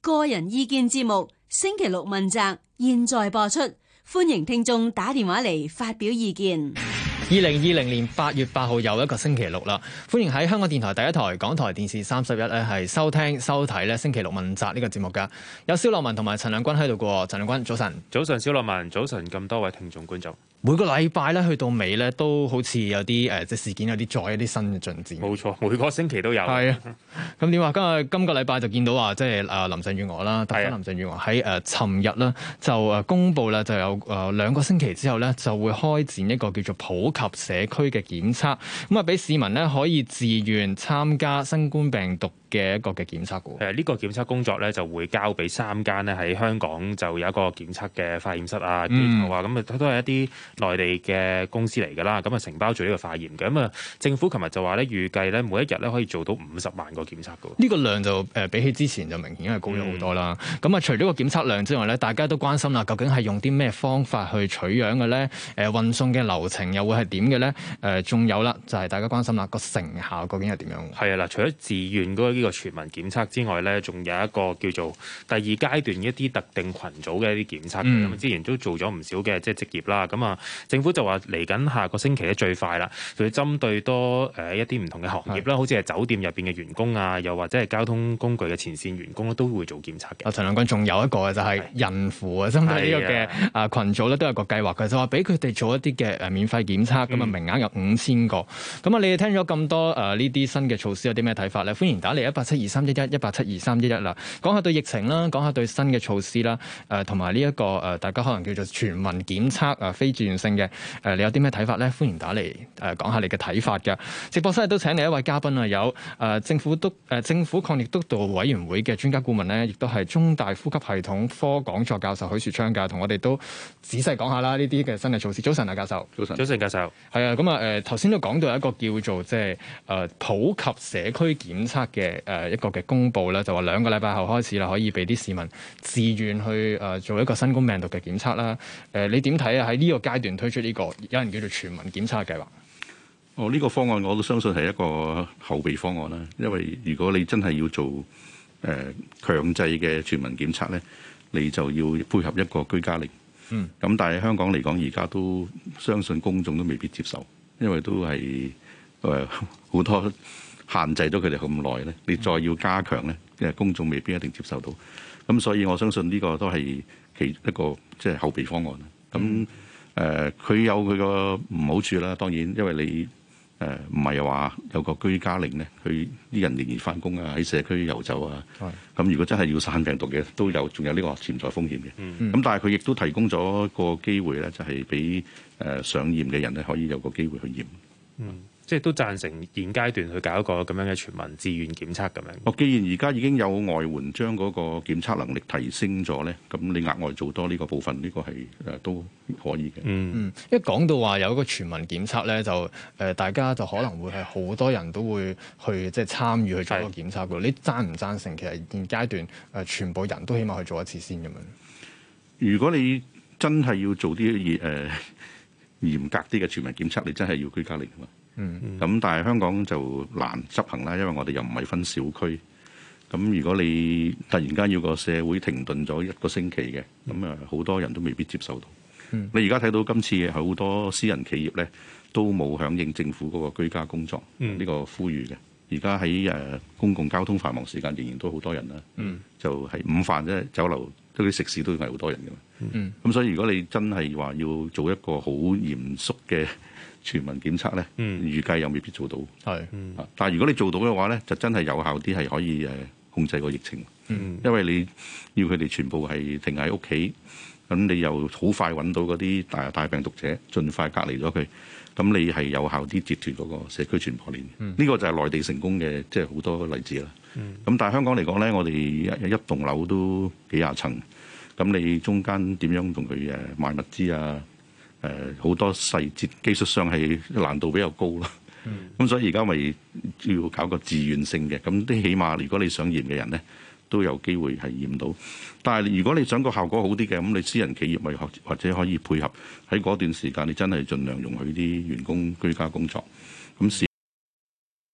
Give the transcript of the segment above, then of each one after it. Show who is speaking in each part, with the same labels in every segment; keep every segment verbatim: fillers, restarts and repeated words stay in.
Speaker 1: 個人意見節目星期六問責，現在播出，歡迎聽眾打電話嚟發表意見。
Speaker 2: 二零二零年八月八號又一個星期六啦，歡迎喺香港電台第一台、港台電視三十一咧係收聽收睇咧星期六問責呢個節目噶。有蕭樂文同埋陳亮君喺度過，陳亮君早晨。
Speaker 3: 早晨，蕭樂文，早晨，咁多位聽眾觀眾。
Speaker 2: 每個禮拜咧去到尾咧都好似有啲誒即係事件有啲再一啲新嘅進展。
Speaker 3: 冇錯，每個星期都有。
Speaker 2: 係啊，咁點話？今日今個禮拜就見到話，即係誒林鄭月娥啦，特首林鄭月娥喺誒尋日啦就誒公布啦，就有誒兩個星期之後咧就會開展一個叫做普及社區嘅檢測，咁啊俾市民咧可以自願參加新冠病毒嘅一個嘅檢測嘅。
Speaker 3: 誒呢個檢測工作咧就會交俾三間咧喺香港就有一個檢測嘅化驗室啊、機構啊，咁啊、嗯、都係一啲內地嘅公司嚟㗎啦，咁啊承包住呢個化驗嘅。咁啊政府琴日就話咧預計咧每一日咧可以做到五十萬個檢測嘅。呢
Speaker 2: 個量就誒比起之前就明顯係高咗好多啦。咁啊、嗯、除咗個檢測量之外咧，大家都關心啦，究竟係用啲咩方法去取樣嘅咧？誒運送嘅流程又會係點嘅咧？誒仲有啦，就係大家關心啦，個成效究竟係點樣？係
Speaker 3: 啊嗱，除咗自願嗰呢個全民檢測之外咧，仲有一個叫做第二階段一啲特定群組嘅一啲檢測。咁、嗯、之前都做咗唔少嘅即係職業啦。咁啊，政府就話嚟緊下個星期咧最快啦，就要針對多誒一啲唔同嘅行業啦，是好似係酒店入邊嘅員工啊，又或者係交通工具嘅前線員工咧，都會做檢測嘅。啊，陳亮君，仲有一個嘅就係孕婦啊，針對呢個嘅啊羣組咧都有個計劃嘅，就話俾佢哋做一啲嘅誒免費檢測，咁啊、嗯、名額有五千個。咁啊，你哋聽咗咁多誒呢啲新嘅措施有啲咩睇法咧？歡迎打嚟一八七二三一一一八七二三一一啦，講下對疫情啦，講下對新嘅措施啦，誒同埋呢一個誒大家可能叫做全民檢測啊，非自願性嘅誒，你有啲咩睇法咧？歡迎打嚟誒講下你嘅睇法嘅。直播室都請嚟一位嘉賓啊，有誒政府督誒政府抗疫督導委員會嘅專家顧問咧，亦都係中大呼吸系統科講座教授許樹昌嘅，同我哋都仔細講下啦呢啲嘅新嘅措施。早晨啊，教授。早晨。早晨，教授。
Speaker 2: 係啊，咁啊誒頭先都講到一個叫做即係誒普及社區檢測嘅誒一個嘅公佈啦，就話兩個禮拜後開始啦，可以俾啲市民自願去誒做一個新冠病毒嘅檢測啦。誒你點睇啊？喺呢個階段推出呢個有人叫做全民檢測嘅計劃。
Speaker 4: 哦，呢、這個方案我都相信係一個後備方案啦。因為如果你真係要做誒、呃、強制嘅全民檢測咧，你就要配合一個居家令。嗯。咁但係香港嚟講，而家都相信公眾都未必接受，因為都係誒好多限制咗佢哋咁耐咧。你再要加強咧，因為公眾未必一定接受到。咁所以我相信呢個都係其一個即係、就是、後備方案。咁誒，佢、呃、有佢個唔好處啦。當然，因為你誒唔係話有個居家令咧，佢啲人仍然翻工啊，喺社區遊走啊。咁是如果真係要散病毒嘅，都有仲有呢個潛在風險嘅。咁、嗯、但係佢亦都提供咗個機會咧，就係俾誒想驗嘅人咧，可以有個機會去驗。
Speaker 3: 嗯。即係都贊成現階段去搞一個咁樣嘅全民自願檢測咁樣。
Speaker 4: 哦，既然而家已經有外援將嗰個檢測能力提升咗咧，咁你額外做多呢個部分，呢、呢個係誒都可以嘅。
Speaker 2: 嗯嗯，一講到話有一個全民檢測咧，就誒、呃、大家就可能會係好多人都會去即係參與去做一個檢測嘅。是你贊唔贊成其實現階段誒、呃、全部人都起碼去做一次先咁樣？
Speaker 4: 如果你真係要做啲誒、呃、嚴格啲嘅全民檢測，你真係要居家令啊嘛。嗯，咁、嗯、但係香港就難執行啦，因為我哋又唔係分小區。咁如果你突然間要個社會停頓咗一個星期嘅，咁啊好多人都未必接受到。嗯、你而家睇到今次好多私人企業咧都冇響應政府嗰個居家工作呢、嗯、個呼籲嘅。而家喺誒公共交通繁忙時間仍然都好多人啦。嗯，就係午飯啫，酒樓嗰啲食肆都係好多人嘅嘛。嗯，咁所以如果你真係話要做一個好嚴肅嘅全民檢測咧，嗯、預計又未必做到。係，嗯、但係如果你做到嘅話咧，就真係有效啲，係可以誒控制個疫情。嗯，因為你要佢哋全部係停喺屋企，咁你又好快揾到嗰啲大大病毒者，盡快隔離咗佢，咁你係有效啲截斷嗰個社區傳播鏈。呢、嗯、個就係內地成功嘅，即係好多例子啦。咁、嗯、但係香港嚟講咧，我哋一一棟樓都幾廿層，咁你中間點樣同佢誒賣物資啊？誒好多細節技術上係難度比較高啦，咁、嗯、所以而家咪要搞個自願性嘅，咁啲起碼如果你想驗嘅人咧，都有機會係驗到。但係如果你想個效果好啲嘅，咁你私人企業咪或者可以配合喺嗰段時間，你真係盡量容許啲員工居家工作，咁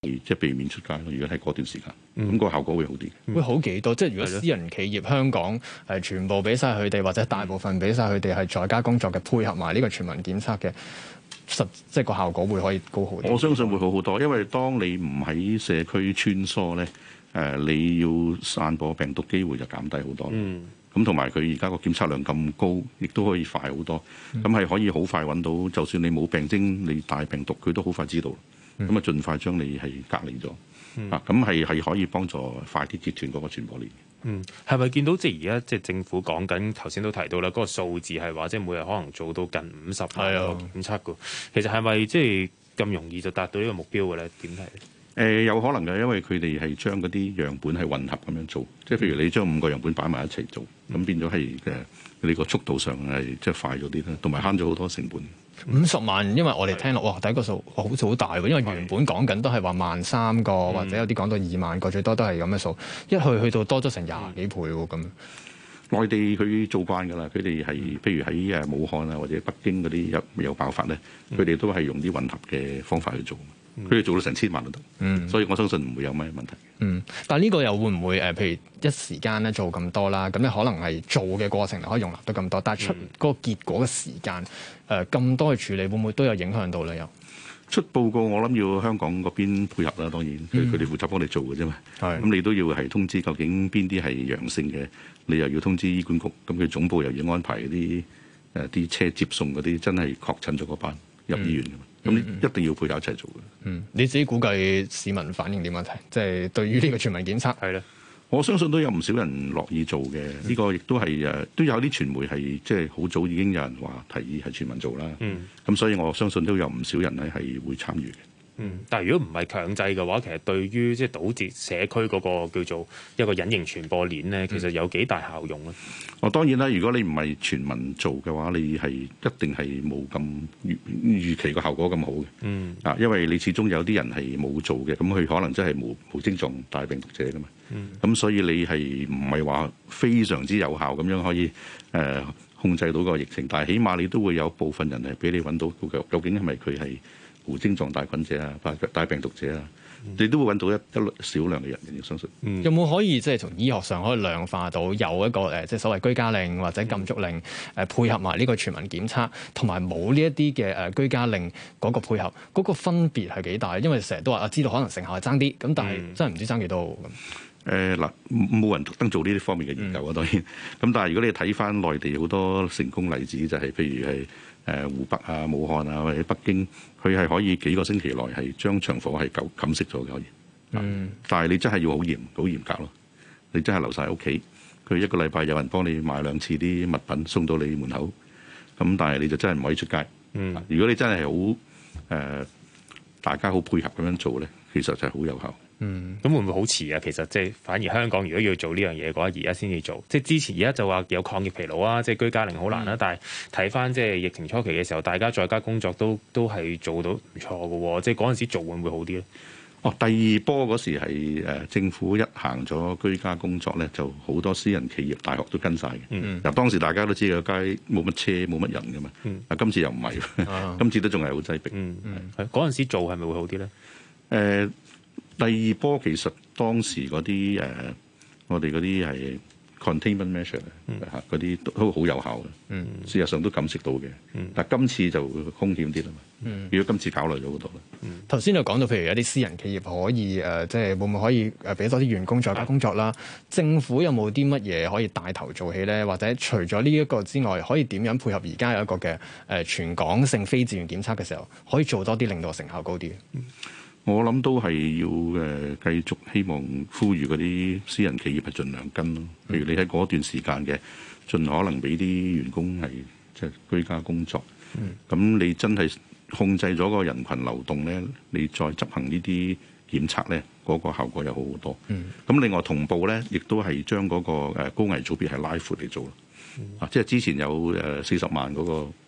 Speaker 4: 即係避免出街咯。如果喺嗰段時間，咁、嗯、個效果會好啲。
Speaker 2: 會好幾多？即係如果私人企業香港係全部俾晒佢哋，或者大部分俾晒佢哋係在家工作嘅，配合埋呢個全民檢測嘅，實即係個效果會可以高好啲。
Speaker 4: 我相信會好好多，因為當你唔喺社區穿梭咧，誒、呃、你要散播病毒機會就減低好多。嗯。咁同埋佢而家個檢測量咁高，亦都可以快好多。咁係、嗯、可以好快揾到，就算你冇病徵，你帶病毒，佢都好快知道。咁啊、嗯，盡快將你係隔離咗。嗯、啊，咁係係可以幫助快啲截斷嗰個傳播鏈。
Speaker 3: 嗯，係咪見到即係而家即係政府講緊頭先都提到啦，嗰、那個數字係話即係每日可能做到近五十萬個檢測㗎。其實係咪即係咁容易就達到呢個目標嘅咧？點睇？
Speaker 4: 誒、呃、有可能嘅，因為佢哋係將嗰啲樣本係混合咁樣做，即係譬如你將五個樣本擺埋一齊做，咁、嗯、變咗係誒你個速度上係即係快咗啲啦，同埋慳咗好多成本。
Speaker 2: 五十萬，因為我哋聽落哇，第一個數好似好大喎，因為原本講緊都係話萬三個，嗯、或者有啲講到二萬個，最多都係咁嘅數，一去去到多咗成廿幾倍喎咁。
Speaker 4: 內地佢做慣㗎啦，佢哋係譬如喺誒武漢啊或者北京嗰啲有有爆發咧，佢哋、嗯、都係用啲混合嘅方法去做。佢哋做到成千萬都得，嗯、所以我相信唔會有咩問題。
Speaker 2: 嗯，但係呢個又會唔會誒？譬如一時間咧做咁多啦，咁你可能係做嘅過程可以容納到咁多，但係出嗰個結果嘅時間誒咁多去處理，會唔會都有影響到咧？又
Speaker 4: 出報告，我諗要香港嗰邊配合啦。當然，佢佢哋負責幫你做嘅啫嘛。係咁，你都要係通知究竟邊啲係陽性嘅，你又要通知醫管局。咁佢總部又要安排啲誒啲車接送嗰啲真係確診咗嗰班入醫院㗎嘛。嗯咁你一定要配合一齊做嘅。
Speaker 2: 嗯，你自己估計市民反應點樣睇？即係對於呢個全民檢測係咧，
Speaker 4: 我相信都有唔少人樂意做嘅。呢、嗯、個亦都係誒，都有啲傳媒係即係好早已經有人話提議係全民做啦。嗯，咁所以我相信都有唔少人咧係會參與嘅。
Speaker 3: 嗯，但係如果唔係強制嘅話，其實對於即係堵截社區嗰個叫做一個隱形傳播鏈咧，其實有幾大效用咧？
Speaker 4: 我、嗯、當然啦，如果你唔係全民做嘅話，你係一定係冇咁預預期個效果咁好嘅。嗯，啊，因為你始終有啲人係冇做嘅，咁佢可能真係冇冇症狀帶病毒者㗎嘛。嗯，咁所以你係唔係話非常之有效咁樣可以誒、呃、控制到個疫情？但係起碼你都會有部分人係俾你揾到究竟係咪佢係無症狀帶菌者啊，帶病毒者啊，嗯、你都會揾到一一少量嘅人，你要相信。嗯、有
Speaker 2: 冇可以即係從醫學上可以量化到有一個誒，即係所謂居家令或者禁足令誒、嗯、配合埋呢個全民檢測，同埋冇呢一啲嘅誒居家令嗰個配合，嗰、嗰個分別係幾大？因為成日都話啊，知道可能成效係爭啲，咁但係真係唔知爭幾多咁。
Speaker 4: 誒嗱、嗯，冇、呃、人特登做呢啲方面嘅研究啊，當然。咁但係如果你睇翻內地好多成功例子，就係、是、譬如係。誒湖北啊、武漢啊或者北京，佢係可以幾個星期內係將場所係禁禁熄咗嘅可以。嗯。但係你真係要好嚴、好嚴格咯。你真係留晒喺屋企，佢一個禮拜有人幫你買兩次啲物品送到你門口。咁但係你就真係唔可以出街。嗯。如果你真係好誒，大家好配合咁樣做咧，其實就係好有效。
Speaker 3: 嗯，咁會唔會好遲啊？其實即係反而香港如果要做呢樣嘢嘅話，而家先至做。即係之前而家就話有抗疫疲勞啊，即係居家令好難啦。嗯、但係睇翻即係疫情初期嘅時候，大家在家工作都都係做到唔錯嘅喎。即係嗰陣時做會唔會好啲咧？
Speaker 4: 哦，第二波嗰時係誒政府一行咗居家工作咧，就好多私人企業、大學都跟晒嘅。嗯，嗱當時大家都知個街冇乜車、冇乜人嘅嘛。嗯，啊今次又唔係，啊、今次都仲係好擠迫。
Speaker 3: 嗯嗯，係嗰陣時做係咪會好啲咧？誒、
Speaker 4: 呃。第二波其實當時嗰啲誒，我哋嗰啲係 containment measure 嚇，嗰啲都好有效嘅。嗯，事實上都感受到嘅。嗯，但係今次就風險啲啦嘛。嗯，如果今次考慮咗好多啦。
Speaker 2: 嗯，頭先就講到，譬如有啲私人企業可以誒、呃，即係會唔會可以誒俾多啲員工在家工作啦？啊、政府有冇啲乜嘢可以帶頭做起咧？或者除咗呢一個之外，可以點樣配合而家有一個嘅誒、呃、全港性非自願檢測嘅時候，可以做多啲，令到成效高啲？嗯
Speaker 4: 我諗都係要誒繼續希望呼籲嗰啲私人企業係盡量跟咯。譬如你喺嗰段時間嘅，盡可能俾啲員工係即係居家工作。咁、嗯、你真係控制咗個人群流動咧，你再執行呢啲檢測咧，嗰、嗰個效果又好好多。咁、嗯、另外同步咧，亦都係將嗰個高危組別係拉闊嚟做咯。啊、嗯，即係之前有誒四十萬嗰個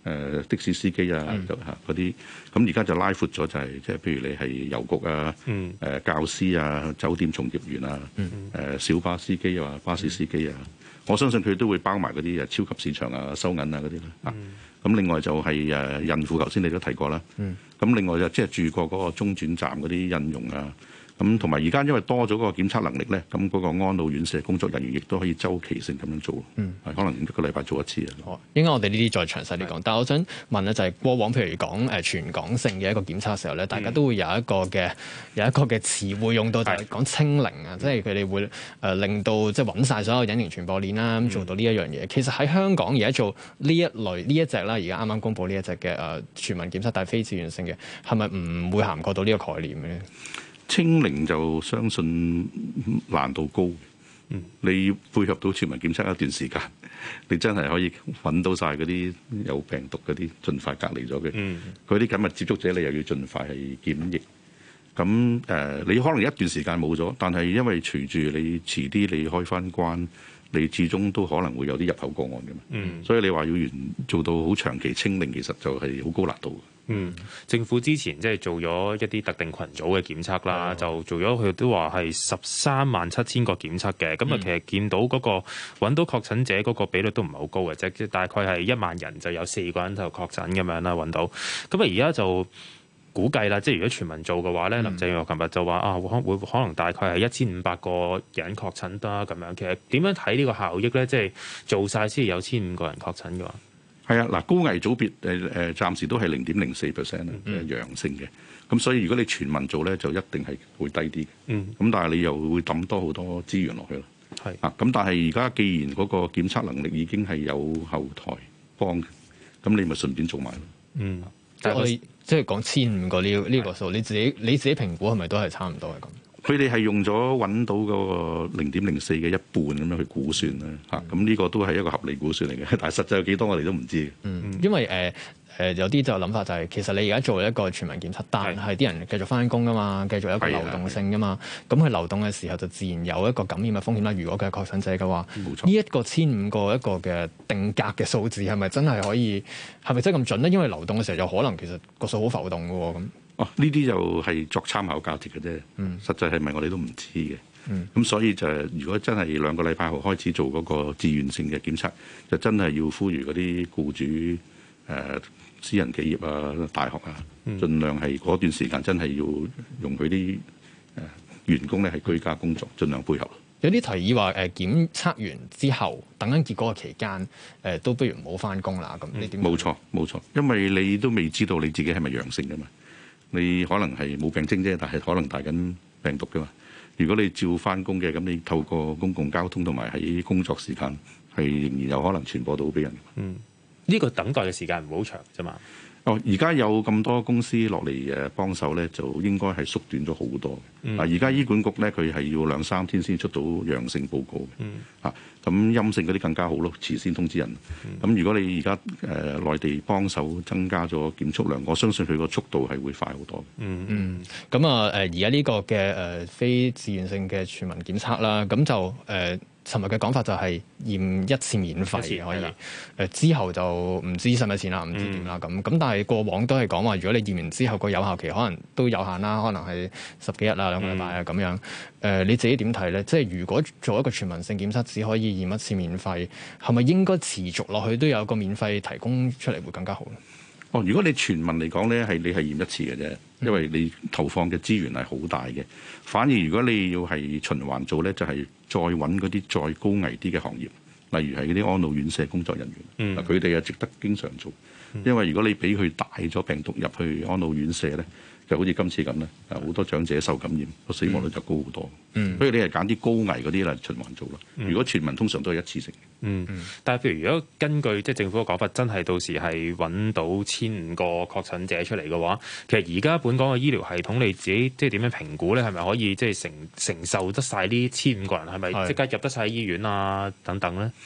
Speaker 4: 誒的士司機啊，就嚇嗰啲，咁而家就拉闊咗，就係即係譬如你係郵局啊、誒、嗯呃、教師啊、酒店從業員啊、誒、嗯呃、小巴司機啊、巴士司機啊，嗯、我相信佢都會包埋嗰啲誒超級市場啊、收銀啊嗰啲啦。咁、嗯、另外就係誒孕婦，頭先你都提過啦。咁、嗯、另外就即係住過嗰個中轉站嗰啲印傭啊。咁同埋而家因為多咗嗰個檢測能力咧，咁嗰個安老院舍工作人員亦都可以周期性咁樣做，嗯，可能一個禮拜做一次啊。
Speaker 2: 好，應該我哋呢啲再詳細啲講。是但係我想問咧，就係過往譬如講誒全港性嘅一個檢測嘅時候咧，大家都會有一個嘅有一個嘅詞彙用到，就係講清零啊，即係佢哋會誒令到即係揾晒所有隱形傳播鏈啦，咁做到呢一樣嘢。嗯、其實喺香港而家做呢一類呢一隻啦，而家啱啱公布呢一隻嘅誒全民檢測，但係非自願性嘅，係咪唔會涵蓋到呢個概念嘅咧？
Speaker 4: 清零就相信難度高，嗯、你配合到全民檢測一段時間，你真係可以揾到晒嗰啲有病毒嗰啲，盡快隔離咗嘅。佢啲緊密接觸者，你又要盡快係檢疫。咁誒、呃，你可能一段時間冇咗，但係因為隨住你遲啲你開翻關，你始終都可能會有啲入口個案嘅嘛。嗯、所以你話要完做到好長期清零，其實就係好高難度。
Speaker 3: 嗯，政府之前即係做咗一啲特定群組嘅檢測啦，哦、就做咗佢都話係十三萬七千個檢測嘅，咁啊、嗯、其實見到嗰個揾到確診者嗰個比率都唔係好高嘅，即係大概係一萬人就有四個人就確診咁樣啦揾到，咁啊而家就估計啦，即係如果全民做嘅話咧，嗯、林鄭月娥琴日就話啊可會可能大概係一千五百個人確診啦咁樣，其實點樣睇呢個效益咧？即係做晒先有千五個人確診嘅話。
Speaker 4: 係啊，嗱高危組別誒誒，暫時都係零點零四 percent 嘅陽性嘅，咁所以如果你全民做咧，就一定係會低啲嘅。嗯，咁但係你又會抌多好多資源落去咯。係是啊，咁但係而家既然嗰個檢測能力已經係有後台幫嘅，咁你咪順便做埋咯。嗯，
Speaker 2: 但係我哋即係講千五個呢呢個數，你自己你自己評估係咪都係差唔多係咁？
Speaker 4: 佢哋係用咗揾到嗰個零點零四嘅一半咁樣去估算啦，嚇咁呢個都係一個合理估算嚟嘅，但係實際有幾多我哋都唔知。
Speaker 2: 嗯，因為誒誒、呃呃、有啲就諗法就係、是、其實你而家做一個全民檢測，但係啲人繼續翻工噶嘛，繼續有一個流動性噶嘛，咁佢流動嘅時候就自然有一個感染嘅風險啦。如果佢係確診者嘅話，冇錯，呢一個千五個一個嘅定格嘅數字係咪真係可以係咪真係咁準咧？因為流動嘅時候有可能其實個數好浮動嘅喎咁。
Speaker 4: 哦，呢啲就係作參考價值嘅啫，嗯、實際係咪我哋都唔知嘅。咁、嗯、所以就如果真係兩個禮拜後開始做嗰個自願性嘅檢測，就真係要呼籲嗰啲僱主、誒、呃、私人企業啊、大學啊，嗯、盡量係嗰段時間真係要容許啲誒員工咧係居家工作，盡量配合。
Speaker 2: 有啲提議話誒檢測完之後，等緊結果嘅期間，誒、呃、都不如唔好翻工啦。咁你點？冇
Speaker 4: 錯冇錯，因為你都未知道你自己係咪陽性㗎嘛。你可能係冇病徵啫，但係可能帶緊病毒㗎嘛。如果你照翻工嘅，咁你透過公共交通同埋喺工作時間，係仍然有可能傳播到俾人。
Speaker 3: 嗯，呢、這個等待嘅時間唔好長啫嘛。
Speaker 4: 哦，而家有咁多公司落嚟誒幫手咧，就應該係縮短咗好多。嗯、啊，而家醫管局咧，佢係要兩三天先出到陽性報告嘅。嗯。啊，咁陰性嗰啲更加好咯，遲先通知人。咁、嗯、如果你而家誒內地幫手增加咗檢測量，我相信佢個速度係會快好多。
Speaker 2: 嗯嗯。咁啊誒，而家呢個嘅誒、呃、非自願性嘅全民檢測啦，咁就誒。呃尋日嘅講法就係驗一次免費可以，誒、呃、之後就唔知使唔使錢啦，唔知點啦咁。咁、嗯、但係過往都係講話，如果你驗完之後個有效期可能都有限啦，可能係十幾日啊、兩個禮拜啊咁樣。誒、呃、你自己點睇咧？即係如果做一個全民性檢測，只可以驗一次免費，係咪應該持續落去都有個免費提供出嚟會更加好咧？
Speaker 4: 哦，如果你全民嚟講咧，係你係驗一次嘅啫，因為你投放嘅資源係好大嘅。反而如果你要係循環做咧，就係、是、再揾嗰啲再高危啲嘅行業，例如係嗰啲安老院舍工作人員，嗱佢哋係值得經常做，因為如果你俾佢帶咗病毒入去安老院舍咧，就好似今次咁咧，啊好多長者受感染，個死亡率就高好多。嗯，所以你係揀啲高危嗰啲嚟循環做咯。嗯、如果全民通常都係一次性。
Speaker 3: 嗯，但係譬如如果根據即係政府嘅講法，真係到時係揾到千五個確診者出嚟嘅話，其實而家本港嘅醫療系統你自己即係點樣評估咧？係咪可以即係承承受得晒呢千五個人？係咪即刻入得晒醫院啊？等等咧？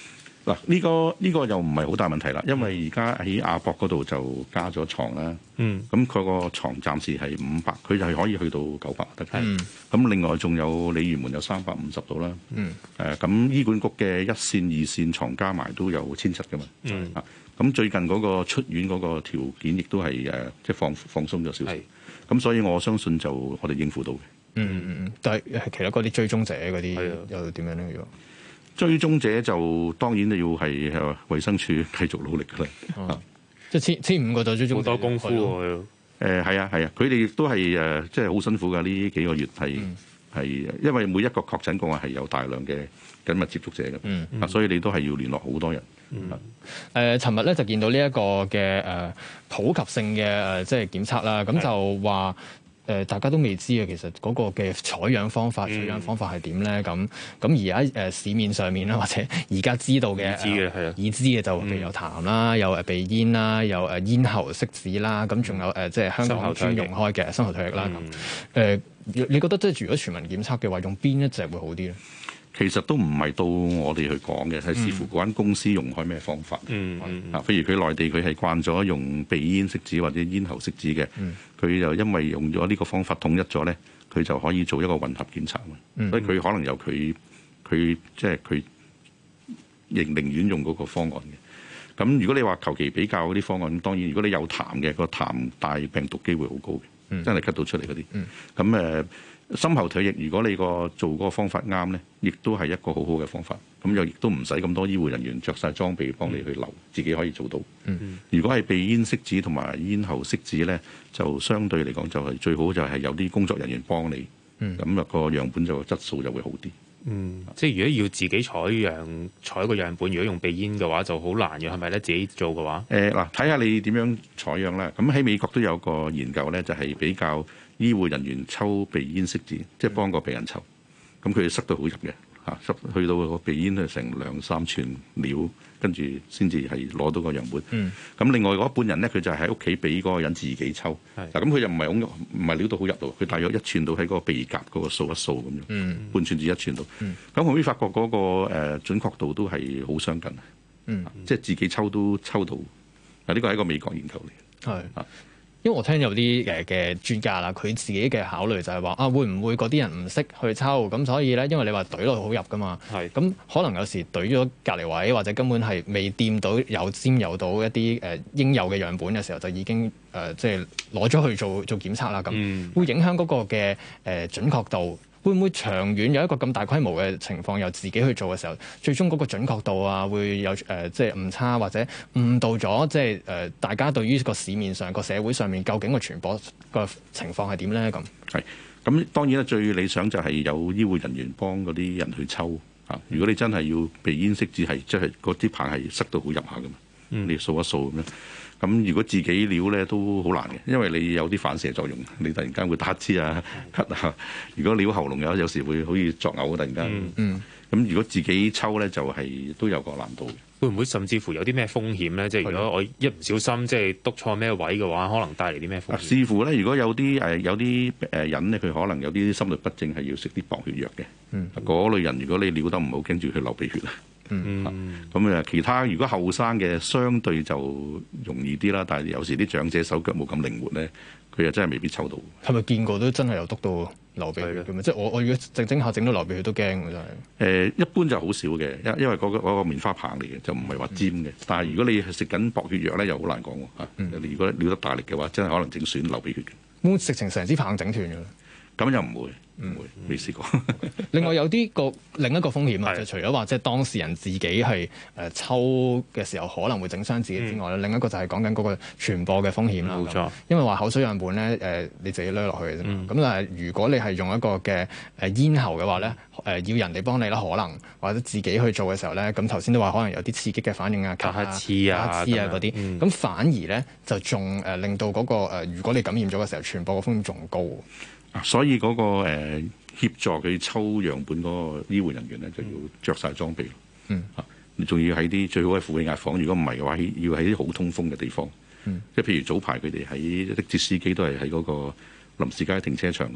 Speaker 4: 嗱，呢個呢個又唔係好大問題啦，因為而家喺亞博嗰度就加咗床啦。
Speaker 3: 嗯，
Speaker 4: 咁佢個床暫時係五百，佢就係可以去到九百得嘅。
Speaker 2: 嗯，
Speaker 4: 咁另外仲有鯉魚門有三百五十度啦。
Speaker 2: 嗯，
Speaker 4: 誒咁醫管局嘅一線二線床加埋都有千七㗎嘛。
Speaker 3: 嗯，
Speaker 4: 啊，咁最近嗰個出院嗰個條件亦都係誒即係放放鬆咗少少。
Speaker 3: 係，
Speaker 4: 咁所以我相信就我哋應付到嘅。
Speaker 2: 嗯嗯嗯，但係其他嗰啲追蹤者嗰啲
Speaker 3: 係啊
Speaker 2: 又點樣咧？如果
Speaker 4: 追蹤者就當然都要係誒衛生署繼續努力㗎啦。
Speaker 2: 哦、即係千千五個就追蹤者
Speaker 3: 好多功夫喎。
Speaker 4: 誒係啊係啊，佢哋亦都係誒即係好辛苦㗎。呢幾個月係係、嗯、因為每一個確診個案係有大量嘅緊密接觸者嘅，啊、
Speaker 2: 嗯
Speaker 4: 嗯，所以你都係要聯絡好多人。
Speaker 2: 嗯，誒，尋日咧就見到呢一個嘅誒普及性嘅誒即係檢測啦，咁就話。誒大家都未知嘅，其實嗰個嘅採樣方法、取樣方法係點咧？咁咁而家誒市面上面啦，或者而家知道嘅、
Speaker 3: 已知嘅係啊，
Speaker 2: 已知嘅就譬如有痰啦，有誒鼻咽啦，有誒咽喉拭子啦，咁仲有誒即係香港專用開嘅深喉唾液啦。咁誒，你覺得即係如果全民檢測嘅話，用邊一隻會好啲咧？
Speaker 4: 其實都唔係到我哋去講嘅，係視乎嗰間公司用開咩方法。
Speaker 3: 嗯嗯
Speaker 4: 啊，譬如佢內地佢係慣咗用鼻咽拭子或者咽喉拭子嘅，佢、嗯、就因為用咗呢個方法統一咗咧，佢就可以做一個混合檢測嘛。嗯、所以佢可能有佢佢即係佢仍寧願用嗰個方案嘅。咁如果你話求其比較嗰啲方案，當然如果你有痰嘅、個痰帶病毒機會好高嘅，嗯、真係咳到出嚟嗰啲。咁誒、嗯。呃深喉唾液，如果你個做嗰個方法啱咧，亦都係一個好好嘅方法。咁又亦都唔使咁多醫護人員着晒裝備幫你去留，自己可以做到。嗯、如果係鼻咽拭子同埋咽喉拭子咧，就相對嚟講就係最好就係有啲工作人員幫你。咁啊、嗯、個樣本就質素就會好啲。
Speaker 3: 嗯，即係如果要自己採樣採個樣本，如果用鼻咽嘅話就好難嘅，係咪咧？自己做嘅話，誒嗱，
Speaker 4: 睇下你點樣採樣啦。咁喺美國都有個研究咧，就係、是、比較醫護人員抽鼻咽拭子，即係幫個病人抽，咁佢哋塞到好入嘅嚇，塞去到個鼻咽係成兩三寸料，跟住先至係攞到個樣本。咁、嗯、另外嗰一半人咧，佢就係喺屋企俾嗰個人自己抽。嗱是，咁佢又唔係好唔係料到好入到，佢大約一寸到喺嗰個鼻甲嗰個掃一掃咁樣，嗯、半寸至一寸到。咁後尾發覺嗰個誒準確度都係好相近，嗯、即係自己抽都抽到。嗱，呢個係一個美國研究嚟。係啊。
Speaker 2: 因為我聽有啲誒嘅專家啦，佢自己嘅考慮就係話啊，會唔會嗰啲人唔識去抽咁，所以咧，因為你話懟落去好入噶嘛，係咁是可能有時懟咗隔離位，或者根本係未掂到有沾有到一啲誒、呃、應有嘅樣本嘅時候，就已經誒、呃、即係攞咗去做做檢測啦，咁、嗯、會影響嗰個嘅誒、呃、準確度。會唔會長遠有一個咁大規模嘅情況，由自己去做嘅時候，最終嗰個準確度啊，會有誒、呃、即係誤差，或者誤導咗即係誒、呃、大家對於個市面上個社會上面究竟個傳播個情況係點咧？咁
Speaker 4: 係咁當然啦，最理想就係有醫護人員幫嗰啲人去抽嚇。如果你真係要鼻咽拭子係即係嗰啲棒係塞到好入下噶嘛，嗯、你掃一掃咁樣。咁如果自己撩咧都好難嘅，因為你有啲反射作用，你突然間會打乞嗤啊、咳啊。如果撩喉嚨有有時會好似作嘔，突然間。嗯。嗯。咁如果自己抽咧，就係、是、都有個難度。
Speaker 3: 會唔會甚至乎有啲咩風險咧？即係如果我一唔小心即係督錯咩位嘅話，可能帶嚟啲咩風險？
Speaker 4: 視乎咧，如果有啲誒有啲誒人咧，佢可能有啲心律不正，係要食啲薄血藥嘅。嗯。嗰類人，如果你撩得唔好，跟住佢流鼻血啊。嗯，咁誒、嗯，其他如果後生嘅相對就容易啲啦，但係有時啲長者手腳冇咁靈活咧，佢又真係未必抽到。係咪見過都真係有篤到流鼻血嘅？的即係我我如果整整下整到流鼻血都驚嘅真係。誒、呃，一般就好少嘅，因因為嗰、那個那個棉花棒嚟嘅，就唔係話尖嘅。嗯、但係如果你係食緊薄血藥咧，又好難講喎嚇。嗯、你如果撩得大力嘅話，真係可能整損流鼻血嘅。
Speaker 2: 會食成成支棒整斷嘅？
Speaker 4: 咁又唔會。唔會，未試過。
Speaker 2: 另外有啲個另一個風險啊，就除咗話即係當事人自己係誒抽嘅時候可能會整傷自己之外咧，嗯、另一個就係講緊嗰個傳播嘅風險啦。冇錯，因為話口水樣本咧誒、呃、你自己攞落去嘅啫嘛。咁、嗯、但係如果你係用一個嘅誒咽喉嘅話咧，誒、呃、要人哋幫你啦，可能或者自己去做嘅時候咧，咁頭先都話可能有啲刺激嘅反應啊，咳啊、
Speaker 3: 黐啊、
Speaker 2: 黐啊嗰啲，咁、嗯、反而咧就仲誒令到嗰、那個、呃、如果你感染咗嘅時候，傳播嘅風險仲高。
Speaker 4: 所以嗰、那個誒、呃、協助佢抽樣本嗰個醫護人員咧，就要着晒裝備。嗯，嚇、啊，你仲要喺啲最好喺負氣壓房。如果唔係嘅話，要喺啲好通風嘅地方。嗯，即係譬如早排佢哋喺的士司機都係喺嗰個臨時街停車場嗰度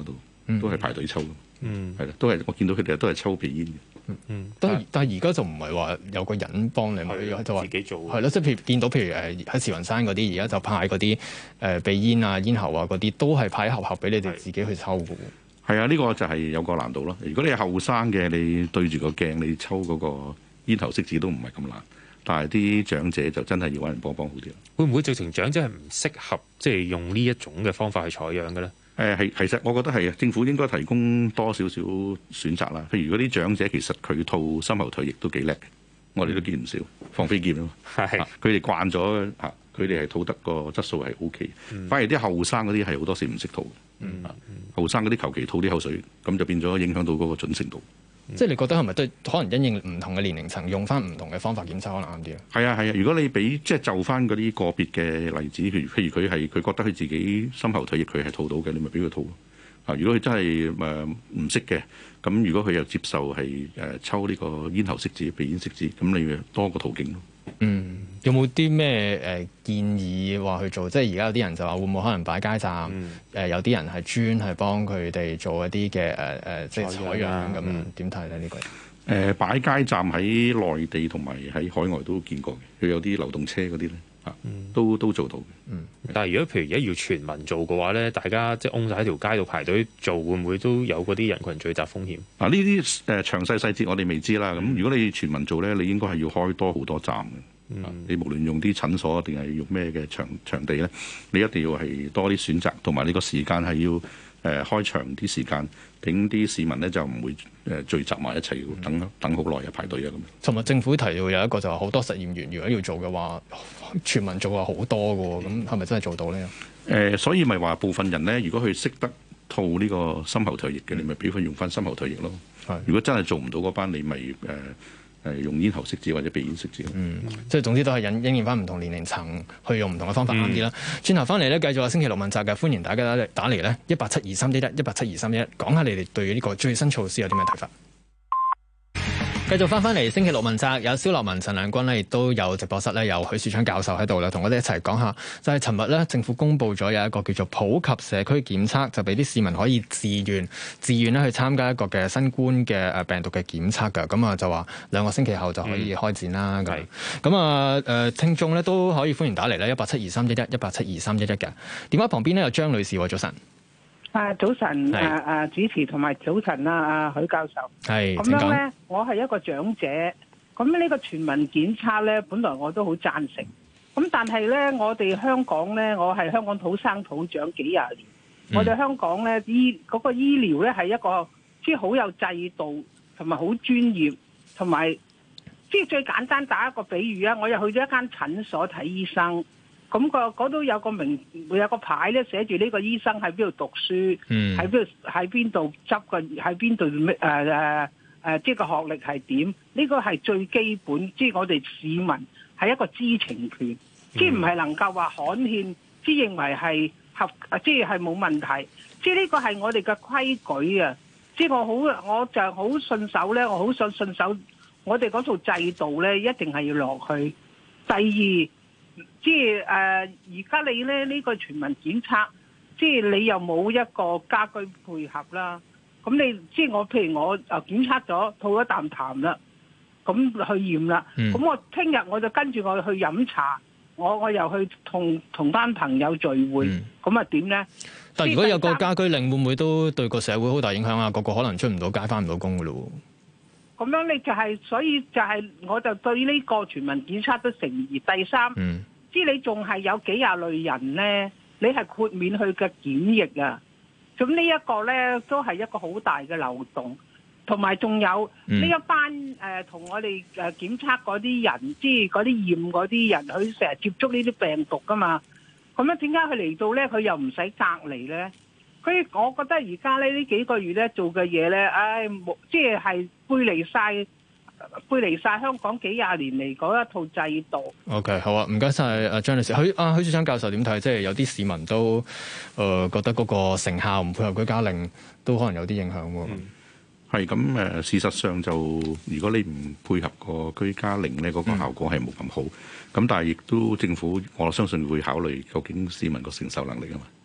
Speaker 4: 都係排隊抽嘅。
Speaker 3: 嗯，
Speaker 4: 係啦，都係我見到佢哋都係抽鼻煙嘅。
Speaker 2: 嗯嗯，但係但係而家就唔係話有個人幫你，咪就話
Speaker 3: 自己做。
Speaker 2: 係咯，即係譬如見到譬如誒喺慈雲山嗰啲，而家就派嗰啲誒鼻煙啊、煙喉啊嗰啲，都係派盒盒俾你哋自己去抽嘅喎。
Speaker 4: 係啊，呢個就係有個難度咯。如果你係後生嘅，你對住個鏡你抽嗰個煙頭色紙都唔係咁難，但係啲長者就真係要揾人幫幫好啲。
Speaker 3: 會唔會直情長者係唔適合即係用呢一種嘅方法去採樣嘅咧？
Speaker 4: 誒係，其實我覺得係啊，政府應該提供多少少選擇啦。譬如嗰啲長者其實佢套深喉唾液都幾叻嘅，我哋都見唔少放飛劍啊嘛。係，佢哋慣咗嚇，佢哋係吐得個質素係 O K。反而啲後生嗰啲係好多時唔識吐。嗯，後生嗰啲求其吐啲口水，咁就變咗影響到嗰個準程度。
Speaker 2: 嗯、即係你覺得係咪都可能因應唔同嘅年齡層，用翻唔同嘅方法檢測可能啱啲啊？係
Speaker 4: 啊係啊，如果你俾即係就翻嗰啲個別嘅例子，譬如譬如佢係佢覺得佢自己深喉唾液佢係吐到嘅，你咪俾佢吐咯。啊，如果佢真係誒唔識嘅，咁如果佢又接受係誒、呃、抽呢個咽喉拭子、鼻咽拭子，咁你咪多個途徑咯。
Speaker 2: 嗯，有冇啲咩誒建議話去做？即係而家有啲人就話會唔會可能擺街站？誒、嗯呃、有啲人係專係幫佢哋做一啲嘅誒誒，即係採樣咁樣。點睇咧呢個？誒、
Speaker 4: 呃、擺街站喺內地同埋喺海外都見過嘅，佢有啲流動車嗰啲咧。啊，都都做到嘅。嗯，
Speaker 3: 但係如果譬如而家要全民做嘅話咧，大家即係擁曬喺條街度排隊做，會唔會都有嗰啲人群聚集風險？
Speaker 4: 嗱、啊，呢啲誒詳細細節我哋未知啦。咁、嗯、如果你全民做咧，你應該係要開多好多站嘅。嗯、啊，你無論用啲診所定係用咩嘅場場地咧，你一定要係多啲選擇，同埋你個時間係要誒、呃、開長啲時間，俾啲市民咧就唔會誒聚集埋一齊等、嗯、等好耐啊排隊啊咁。
Speaker 2: 尋日政府提到有一個就係好多實驗員，如果要做嘅話，全民做係好多嘅喎，咁係咪真係做到呢？誒、
Speaker 4: 呃，所以咪話部分人咧，如果佢識得吐呢個深喉唾液嘅，你咪俾佢用翻深喉唾液咯。係，如果真係做唔到嗰班，你咪誒誒用咽喉拭子或者鼻咽拭子。嗯，
Speaker 2: 即係總之都係引應驗翻唔同年齡層去用唔同嘅方法啱啲啦。轉頭翻嚟咧，繼續話星期六問責嘅，歡迎大家打打嚟咧，一八七二三一一一八七二三一一，講下你哋對呢個最新措施有啲咩睇法？繼續翻翻嚟星期六問責，有蕭樂文、陳亮均咧，亦都有直播室咧，有許樹昌教授喺度啦，同我哋一齊講下。就係尋日咧，政府公布咗有一個叫做普及社區檢測，就俾啲市民可以自願自願咧去參加一個嘅新冠嘅誒病毒嘅檢測㗎。咁啊就話兩個星期後就可以開展啦。咁咁啊誒，聽眾咧都可以歡迎打嚟咧，一八七二三一一一八七二三一一嘅電話旁邊咧有張女士，早晨。
Speaker 5: 啊，早晨，啊啊主持同埋早晨啊，啊許教授，
Speaker 2: 係
Speaker 5: 咁樣咧，我係一個長者，咁呢個全民檢測咧，本來我都好贊成，咁但係咧，我哋香港咧，我係香港土生土長幾廿年，嗯、我哋香港咧醫嗰、嗰個醫療咧係一個即係好有制度同埋好專業，同埋即係最簡單打一個比喻啊，我又去咗一間診所睇醫生。咁、個嗰度有個名，會有個牌咧，寫住呢個醫生喺邊度讀書，喺邊度喺邊度執個喺邊度咩誒誒誒，即係個學歷係點？呢個係最基本，即係我哋市民係一個知情權，嗯、即係唔係能夠話刊憲，即係認為係合，即係係冇問題。即係呢個係我哋嘅規矩啊！即係我好，我就好信守咧，我好想信守我哋嗰套制度咧，一定係要落去。第二。即係誒，而、呃、家你咧呢、呢個全民檢測，即係你又冇一個家居配合啦。咁你即係我，譬如我誒檢測咗，吐咗啖痰啦，咁去驗啦。咁、嗯、我聽日我就跟住我去飲茶，我我又去同同班朋友聚會，咁啊點咧？
Speaker 2: 但係如果有個家居令，會唔會都對個社會好大影響啊？個個可能出唔到街，翻唔到工噶咯。
Speaker 5: 咁樣你就係、是，所以就係，我就對呢個全民檢測都成疑。第三，嗯知你仲係有幾廿類人咧，你係豁免佢嘅檢疫啊！咁呢一個咧都係一個好大嘅漏洞，同埋仲有呢、嗯、一班誒同、呃、我哋誒檢測嗰啲人，即係嗰啲驗嗰啲人，佢成日接觸呢啲病毒噶嘛。咁樣點解佢嚟到咧，佢又唔使隔離咧？所以我覺得而家咧呢幾個月咧做嘅嘢咧，唉、哎，冇即係係背離晒。背離晒香港幾廿年嚟嗰一套制度。
Speaker 2: OK， 好啊，唔該晒阿張女士。許啊許樹昌教授點睇？即係有啲市民都誒、呃、覺得嗰個成效唔配合居家令，都可能有啲影響喎。
Speaker 4: 係咁誒，事實上就如果你唔配合個居家令咧，嗰、嗰個效果係冇咁好。咁、嗯、但係亦都政府我相信會考慮究竟市民個承受能力啊嘛。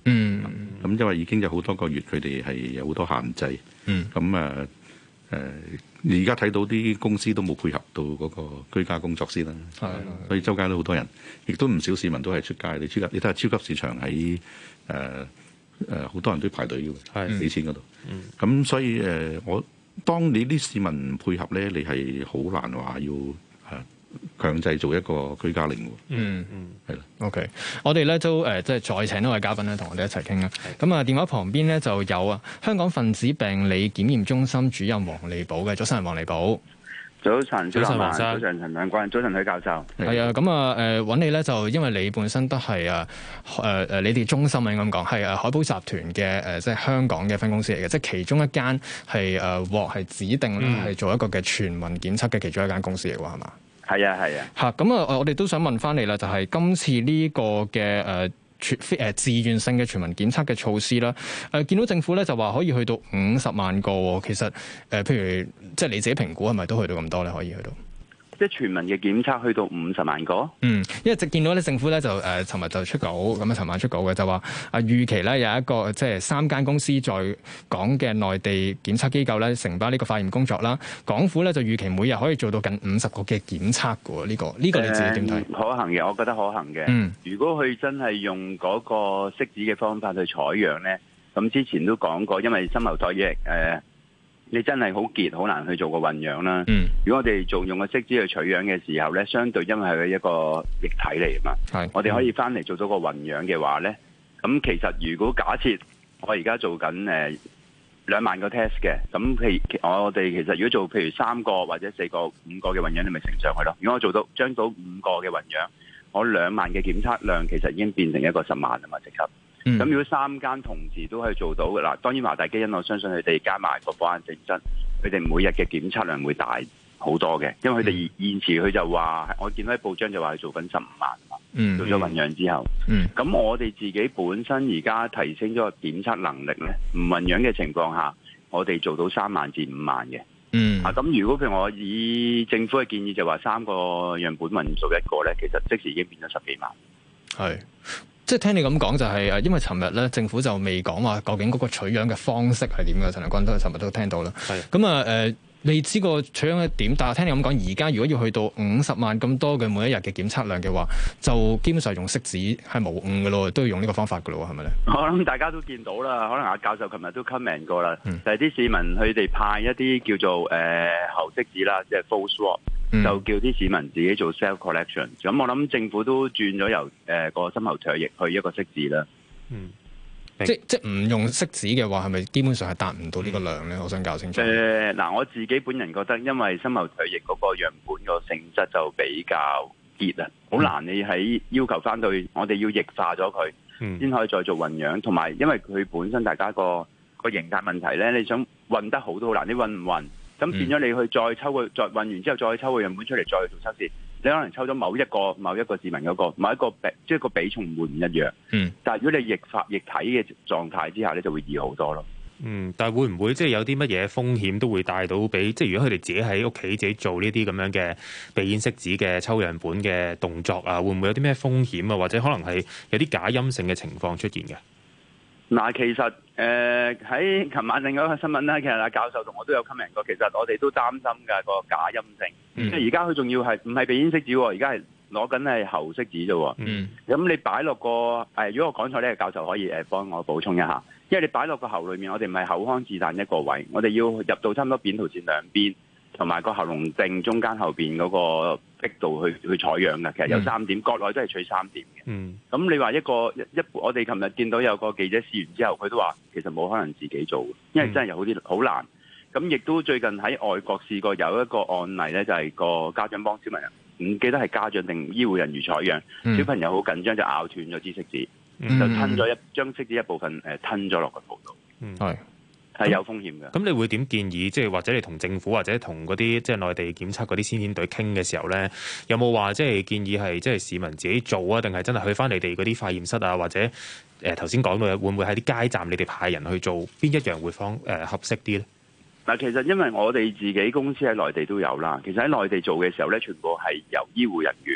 Speaker 2: 嗯，
Speaker 4: 咁因為已經有好多個月，佢哋係有好多限制。
Speaker 2: 嗯，
Speaker 4: 咁啊誒，而家睇到啲公司都冇配合到嗰個居家工作先啦。
Speaker 2: 係，
Speaker 4: 所以周街都好多人，亦都唔少市民都係出街。你超級，你睇下超級市場喺誒誒好多人都排隊嘅，俾錢嗰度。咁、嗯、所以誒、呃，我當你啲市民唔配合咧，你係好難話要誒。呃強制做一個居家令喎。
Speaker 2: 嗯嗯，係啦。
Speaker 4: 的
Speaker 2: OK，我哋咧都誒即係再請一位嘉賓咧，同我哋一齊傾啦。咁啊，電話旁邊咧就有啊，香港分子病理檢驗中心主任黃利寶嘅。早晨，黃利寶。
Speaker 6: 早晨，
Speaker 3: 早晨，黃生。
Speaker 6: 早晨，陳亮君。早晨，許教授。
Speaker 2: 係啊，咁啊誒揾你咧，就因為你本身都係啊誒誒，你哋中心啊應該咁講，係誒海寶集團嘅誒，即係香港嘅分公司嚟嘅，即係其中一間係誒獲係指定咧係做一個嘅全民檢測嘅其中一間公司嚟㗎，係嘛？
Speaker 6: 係啊，係啊。
Speaker 2: 嚇，咁啊，我哋都想問翻你啦，就係、是、今次呢個嘅誒全誒自願性嘅全民檢測嘅措施啦。誒、呃、見到政府咧就話可以去到五十萬個，其實誒、呃、譬如即係你自己評估係咪都去到咁多咧？可以去到？
Speaker 6: 即係全民嘅檢測去到五十萬個。
Speaker 2: 嗯，因為直見到咧，政府咧就誒，尋、呃、日就出稿，咁啊，尋晚出稿嘅就話啊，預期咧有一個即係三間公司在港嘅內地檢測機構咧，承包呢個化驗工作啦。港府咧就預期每日可以做到近五十個嘅檢測嘅喎，呢、這個呢、這個你自己點睇、
Speaker 6: 嗯？可行嘅，我覺得可行嘅。
Speaker 2: 嗯，
Speaker 6: 如果佢真係用嗰個拭子嘅方法去採樣咧，咁之前都講過，因為深喉唾液誒。呃你真係好結，好難去做個混樣啦。嗯、如果我哋做用個拭子去取樣嘅時候咧，相對因為係一個液體嚟嘛，
Speaker 2: 係
Speaker 6: 我哋可以翻嚟做到個混樣嘅話咧，咁其實如果假設我而家做緊誒兩萬個 test 嘅，咁譬如我哋其實如果做譬如三個或者四個、五個嘅混樣，你咪乘上去咯。如果我做到將到五個嘅混樣，我兩萬嘅檢測量其實已經變成一個十萬啊嘛，即刻。咁、嗯、如果三間同時都可以做到嘅嗱，當然華大基因我相信佢哋加埋個保安性質，佢哋每日嘅檢測量會大好多嘅，因為佢哋現時佢就話，我見到喺報章就話佢做緊十五萬嘛，嗯、做咗混樣之後，咁、嗯、我哋自己本身而家提升咗個檢測能力咧，唔混樣嘅情況下，我哋做到三萬至五萬嘅。嗯，啊，咁如果譬如我以政府嘅建議就話三個樣本混做一個咧，其實即時已經變咗十幾萬。
Speaker 2: 係。即係聽你咁講就係、是、誒，因為尋日咧政府就未講話究竟嗰個取樣嘅方式係點嘅，陳良君都尋日都聽到啦。係咁啊誒，未知個取樣係點，但係聽你咁講，而家如果要去到五十萬咁多嘅每一日嘅檢測量嘅話，就基本上用拭子係無誤嘅咯，都要用呢個方法嘅咯，係咪咧？我
Speaker 6: 諗大家都見到啦，可能阿教授琴日都 comment 過啦，嗯、就係啲市民佢哋派一啲叫做誒、呃、喉拭子啦，即係 full swab。就叫啲市民自己做 self collection，咁我諗政府都轉咗由誒個深喉唾液去一個拭子啦。嗯，
Speaker 2: 即即唔用拭子嘅話，係咪基本上係達唔到呢個量咧？嗯、我想搞清楚。誒
Speaker 6: 嗱、呃，我自己本人覺得，因為深喉唾液嗰個樣本個性質就比較結啊，好難你喺要求翻到，我哋要液化咗佢，先、嗯、可以再做混樣。同埋因為佢本身大家個個形態問題咧，你想混得好都好難，你混唔混？咁變咗你去再抽個再混完之後再抽個樣本出嚟再去做測試，你可能抽咗某一個某一個市民嗰個某一個比即係個比重會唔一樣。嗯。但係如果你液化液體嘅狀態之下咧，就會易好多咯。
Speaker 3: 嗯，但係會唔會即係有啲乜嘢風險都會帶到俾即係如果佢哋自己喺屋企自己做呢啲咁樣嘅鼻咽拭子嘅抽樣本嘅動作啊，會唔會有啲咩風險啊？或者可能係有啲假陰性嘅情況出現嘅？
Speaker 6: 嗱，其實誒喺琴晚另外一個新聞咧，其實阿教授同我都有 comment 過，其實我哋都擔心㗎個假陰性，嗯、即係而家佢仲要係唔係鼻咽拭子喎？而家係攞緊係喉拭子啫喎。咁、嗯、你擺落個誒，如果我講錯咧，教授可以誒幫我補充一下，因為你擺落個喉裏面，我哋唔係口腔自彈一個位，我哋要入到差唔多扁桃腺兩邊，同埋個喉嚨定中間後邊嗰個壁度去去採樣嘅，其實有三點，國內都係取三點嘅。嗯，咁你話一個一，我哋琴日見到有個記者試完之後，佢都話其實冇可能自己做，因為真係有好啲好難。咁亦都最近喺外國試過有一個案例咧，就係、是、個家長幫小朋友，唔記得係家長定醫護人員採樣，嗯、小朋友好緊張就咬斷咗支拭子，嗯、就吞咗一將拭子一部分誒吞咗落個肚度。嗯，係。係有風險嘅。咁
Speaker 3: 你會點建議？即係或者你同政府或者同嗰啲即係內地檢測嗰啲先遣隊傾嘅時候咧，有冇話即係建議係即係市民自己做啊？定係真係去翻你哋嗰啲化驗室啊？或者誒頭先講到會唔會喺啲街站你哋派人去做？邊一樣會方誒、呃、合適啲咧？
Speaker 6: 嗱，其實因為我哋自己公司喺內地都有啦。其實喺內地做嘅時候咧，全部係由醫護人員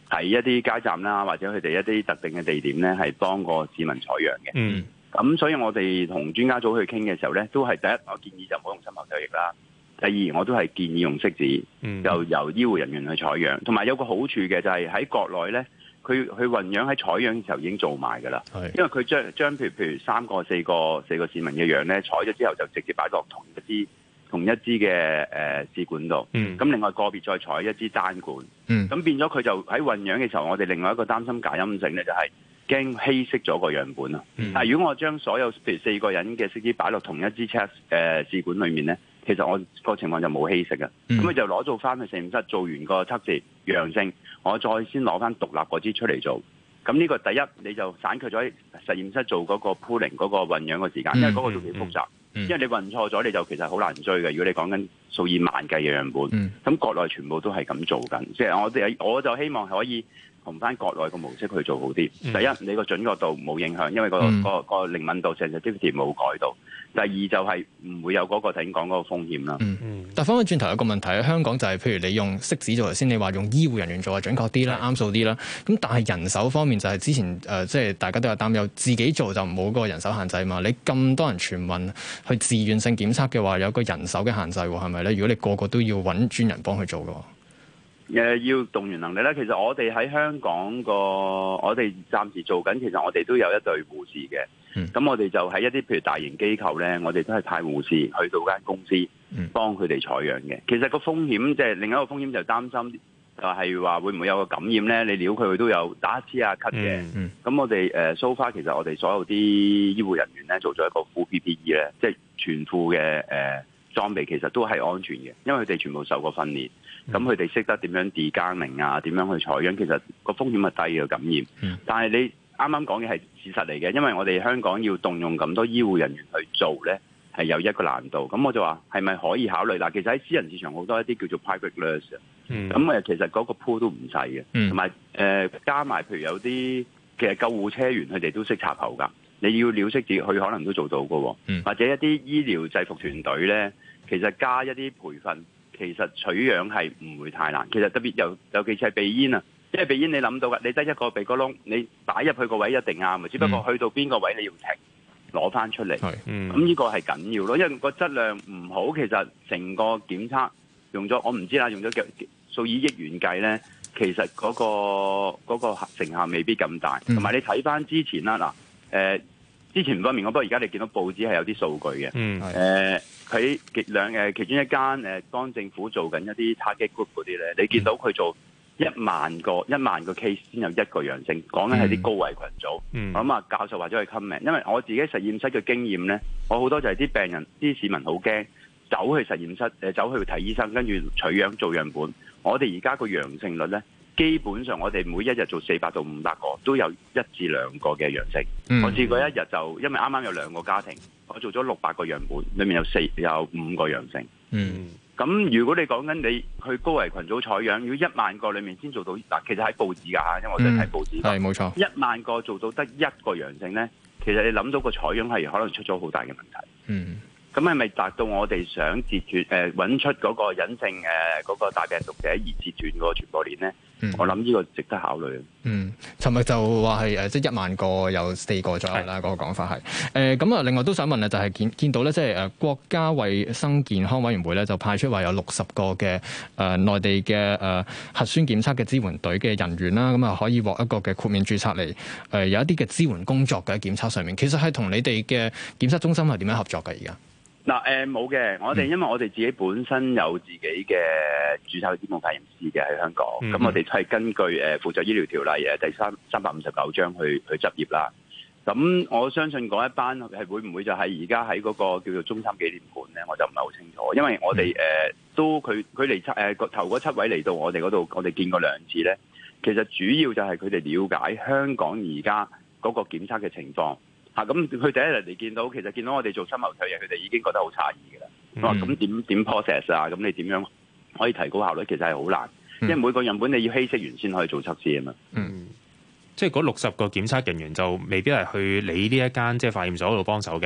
Speaker 6: 喺一啲街站啦，或者佢哋一啲特定嘅地點咧，係幫個市民採樣嘅。
Speaker 3: 嗯。
Speaker 6: 咁所以我哋同專家組去傾嘅時候咧，都係第一，我建議就唔好用深喉唾液啦。第二，我都係建議用拭子，
Speaker 3: 嗯、
Speaker 6: 就由醫護人員去採樣。同埋有個好處嘅就係喺國內咧，佢佢混樣喺採樣嘅時候已經做埋㗎啦。因為佢將將譬如譬如三個四個四個市民嘅樣咧採咗之後，就直接擺落同一支同一支嘅誒試管度。咁、嗯、另外個別再採一支單管。咁、嗯、變咗佢就喺混樣嘅時候，我哋另外一個擔心假陰性咧，就係驚稀釋咗個樣本啊。嗯、但係如果我將所有譬如四個人嘅拭子擺落同一支 check 誒試管裡面咧，其實我個情況就冇稀釋嘅。咁佢、嗯、就攞做翻去實驗室做完個測試陽性，我再先攞翻獨立嗰支出嚟做。咁呢個第一你就省卻咗喺實驗室做嗰個 pooling 嗰個混樣嘅時間，因為嗰個都幾複雜。嗯嗯嗯、因為你混錯咗，你就其實好難追嘅。如果你講緊數以萬計嘅樣本，咁、嗯、國內全部都係咁做緊。即係我哋我就希望可以同翻國內嘅模式去做好啲。嗯、第一，你個準確度冇影響，因為、個、嗯、個個靈敏度 sensitivity 冇改到。第二就係唔會有嗰個頭先講嗰個風險啦。嗯嗯。
Speaker 2: 但翻返轉頭有個問題喺香港就係、是，譬如你用拭子做頭先，你話用醫護人員做係準確啲啦，啱數啲啦。咁但係人手方面就係之前誒、呃，即係大家都有擔憂，自己做就冇嗰個人手限制嘛。你咁多人全民去自願性檢測嘅話，有個人手嘅限制喎，係咪咧？如果你個個都要揾專人幫佢做嘅話。
Speaker 6: 誒、呃、要動員能力咧，其實我哋喺香港個，我哋暫時做緊，其實我哋都有一隊護士嘅。咁、嗯、我哋就喺一啲譬如大型機構咧，我哋都係派護士去到間公司幫佢哋採樣嘅。其實個風險即係另一個風險就擔心，就係話會唔會有個感染咧？你撩佢佢都有打乞嗤啊、咳嘅。咁、嗯嗯、我哋誒 so far 其實我哋所有啲醫護人員咧做咗一個 full P P E 咧，即係全副嘅誒、呃、裝備，其實都係安全嘅，因為佢哋全部受過訓練。咁佢哋識得點樣 degarming 啊，點樣去採樣，其實個風險係低嘅感染。嗯、但係你啱啱講嘅係事實嚟嘅，因為我哋香港要動用咁多醫護人員去做咧，係有一個難度。咁我就話係咪可以考慮？嗱，其實喺私人市場好多一啲叫做 private nurse，咁誒、嗯、其實嗰個 pool 都唔細嘅，同埋誒加埋譬如有啲其實救護車員佢哋都識插喉㗎。你要料識字，佢可能都做到嘅。嗯、或者一啲醫療制服團隊咧，其實加一啲培訓。其實取樣係唔會太難，其實特別尤尤其是係鼻咽啊，因為鼻咽你諗到㗎，你得一個鼻哥窿，你擺入去個位一定啱嘅，只不過去到邊個位你要停攞翻出嚟。咁呢、嗯、個係緊要咯，因為個質量唔好，其實成個檢測用咗我唔知啦，用咗數以億元計咧，其實嗰、嗰個嗰個成效未必咁大。同埋、嗯、你睇翻之前啦，嗱、呃、誒。之前唔方面，不過而家你見到報紙係有啲數據嘅。嗯。誒，佢兩誒其中一間誒幫政府做緊一啲 target group 嗰啲咧，你見到佢做一萬個一萬個 case 先有一個陽性，講緊係啲高危群組。嗯。我諗啊，教授或者係 comment，因為我自己實驗室嘅經驗咧，我好多就係啲病人、啲市民好驚，走去實驗室誒，走去睇醫生，跟住取樣做樣本。我哋而家個陽性率咧。基本上我哋每一日做四百到五百個，都有一至兩個嘅陽性。嗯、我試過一日就，因為啱啱有兩個家庭，我做咗六百個樣本，裏面有四有五個陽性。嗯，咁如果你講緊你去高危群組採樣，如果一萬個裏面先做到，嗱，其實喺報紙㗎嚇，因為我哋睇報紙。係冇、嗯、錯。一萬個做到得一個陽性咧，其實你諗到個採樣係可能出咗好大嘅問題。嗯。咁係咪達到我哋想截斷誒揾出嗰個隱性誒嗰、呃嗰個大病毒者而截斷嗰個傳播鏈咧？嗯、我諗呢個值得考慮。嗯，
Speaker 2: 尋日就話係誒，即係一萬個有四個左右啦，嗰是個講法係誒咁啊。另外都想問啊，就係、是、見見到咧，即係誒國家衛生健康委員會咧，就派出話有六十個嘅誒、呃、內地嘅誒、呃、核酸檢測嘅支援隊嘅人員啦，咁啊可以獲一個嘅豁免註冊嚟誒、呃、有一啲嘅支援工作嘅檢測上面，其實係同你哋嘅檢測中心係點樣合作嘅而家？
Speaker 6: 嗱誒冇嘅，我哋因為我哋自己本身有自己嘅註冊嘅指定化驗師嘅喺香港，咁、嗯、我哋係根據誒負責醫療條例誒第三三百五十九章去去執業啦。咁我相信嗰一班係會唔會就係而家喺嗰個叫做中心紀念館咧？我就唔係好清楚，因為我哋誒、呃、都佢佢嚟誒頭嗰七位嚟到我哋嗰度，我哋見過兩次咧。其實主要就係佢哋了解香港而家嗰個檢測嘅情況。嚇咁佢第一日嚟見到，其實見到我哋做深喉唾液，佢哋已經覺得好詫異嘅啦。我話咁點點 process 啊？咁你點樣可以提高效率？其實係好難，嗯、因為每個樣本你要稀釋完先可以做測試啊嘛。
Speaker 3: 嗯，即係嗰六十個檢測人員就未必係去你呢一間即係化驗所嗰度幫手嘅，